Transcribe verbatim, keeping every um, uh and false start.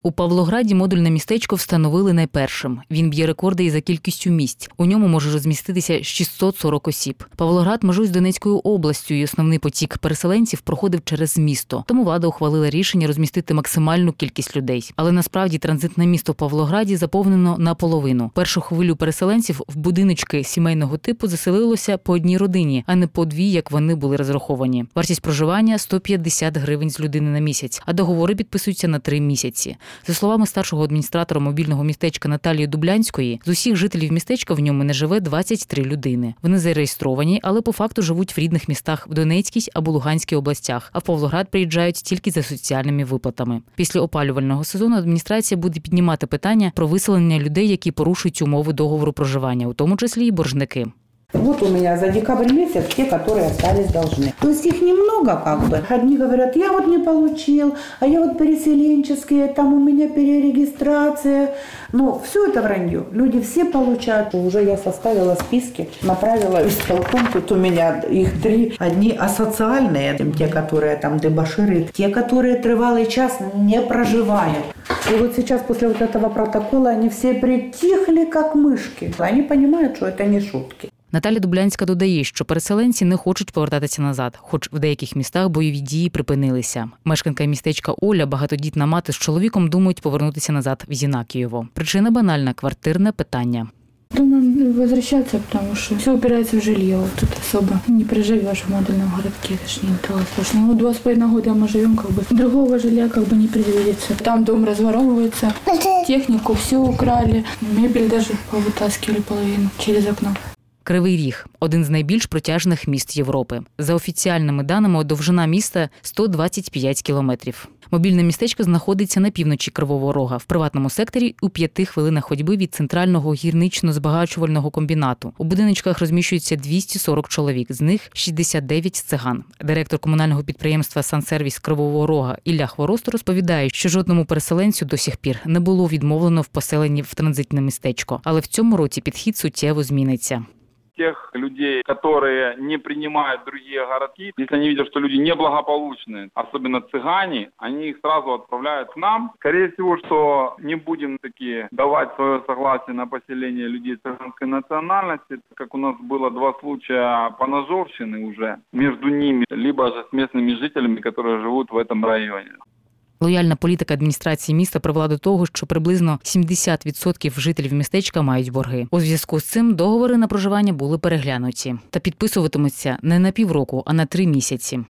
У Павлограді модульне містечко встановили найпершим. Він б'є рекорди і за кількістю місць. У ньому може розміститися шістсот сорок осіб. Павлоград межує з Донецькою областю, і основний потік переселенців проходив через місто. Тому влада ухвалила рішення розмістити максимальну кількість людей. Але насправді транзитне місто в Павлограді заповнено наполовину. Першу хвилю переселенців в будиночки сімейного типу заселилося по одній родині, а не по дві, як вони були розраховані. Вартість проживання – сто п'ятдесят гривень з людини на місяць, а договори підписуються на три місяці. За словами старшого адміністратора мобільного містечка Наталії Дублянської, з усіх жителів містечка в ньому не живе двадцять три людини. Вони зареєстровані, але по факту живуть в рідних містах в Донецькій або Луганській областях, а в Павлоград приїжджають тільки за соціальними виплатами. Після опалювального сезону адміністрація буде піднімати питання про виселення людей, які порушують умови договору проживання, у тому числі і боржники. Вот у меня за декабрь месяц те, которые остались должны. То есть их немного как бы. Одни говорят, я вот не получил, а я вот переселенческие, там у меня перерегистрация. Ну, все это вранье. Люди все получают. Уже я составила списки, направила в исполком. Тут у меня их три. Одни асоциальные, те, которые там дебоширы, те, которые тривалый час не проживают. И вот сейчас после вот этого протокола они все притихли, как мышки. Они понимают, что это не шутки. Наталя Дублянська додає, що переселенці не хочуть повертатися назад, хоч в деяких містах бойові дії припинилися. Мешканка містечка Оля, багатодітна мати з чоловіком, думають повернутися назад в Зінакієво. Причина банальна – квартирне питання. Думаю, возвращаться, потому что все упирается в жилье. Вот тут особо не проживешь в модульном городке, это ж не того страшного. Ну, два с половиной года мы живем, как бы другого жилья как бы не предвидится. Там дом разворовывается, технику все украли, мебель даже повытаскивали половину через окно. Кривий Ріг – один з найбільш протяжних міст Європи. За офіціальними даними, довжина міста – сто двадцять п'ять кілометрів. Мобільне містечко знаходиться на півночі Кривого Рога, в приватному секторі у п'яти хвилинах ходьби від центрального гірнично-збагачувального комбінату. У будиночках розміщується двісті сорок чоловік, з них шістдесят дев'ять циган. Директор комунального підприємства «Сансервіс» Кривого Рога Ілля Хворосто розповідає, що жодному переселенцю до сих пір не було відмовлено в поселенні в транзитне містечко. Але в цьому році підхід суттєво зміниться. Тех людей, которые не принимают другие городки, если они видят, что люди неблагополучные, особенно цыгане, они их сразу отправляют к нам. Скорее всего, что не будем таки давать свое согласие на поселение людей цыганской национальности, как у нас было два случая поножовщины уже между ними, либо же с местными жителями, которые живут в этом районе. Лояльна політика адміністрації міста привела до того, що приблизно сімдесят відсотків жителів містечка мають борги. У зв'язку з цим договори на проживання були переглянуті та підписуватимуться не на півроку, а на три місяці.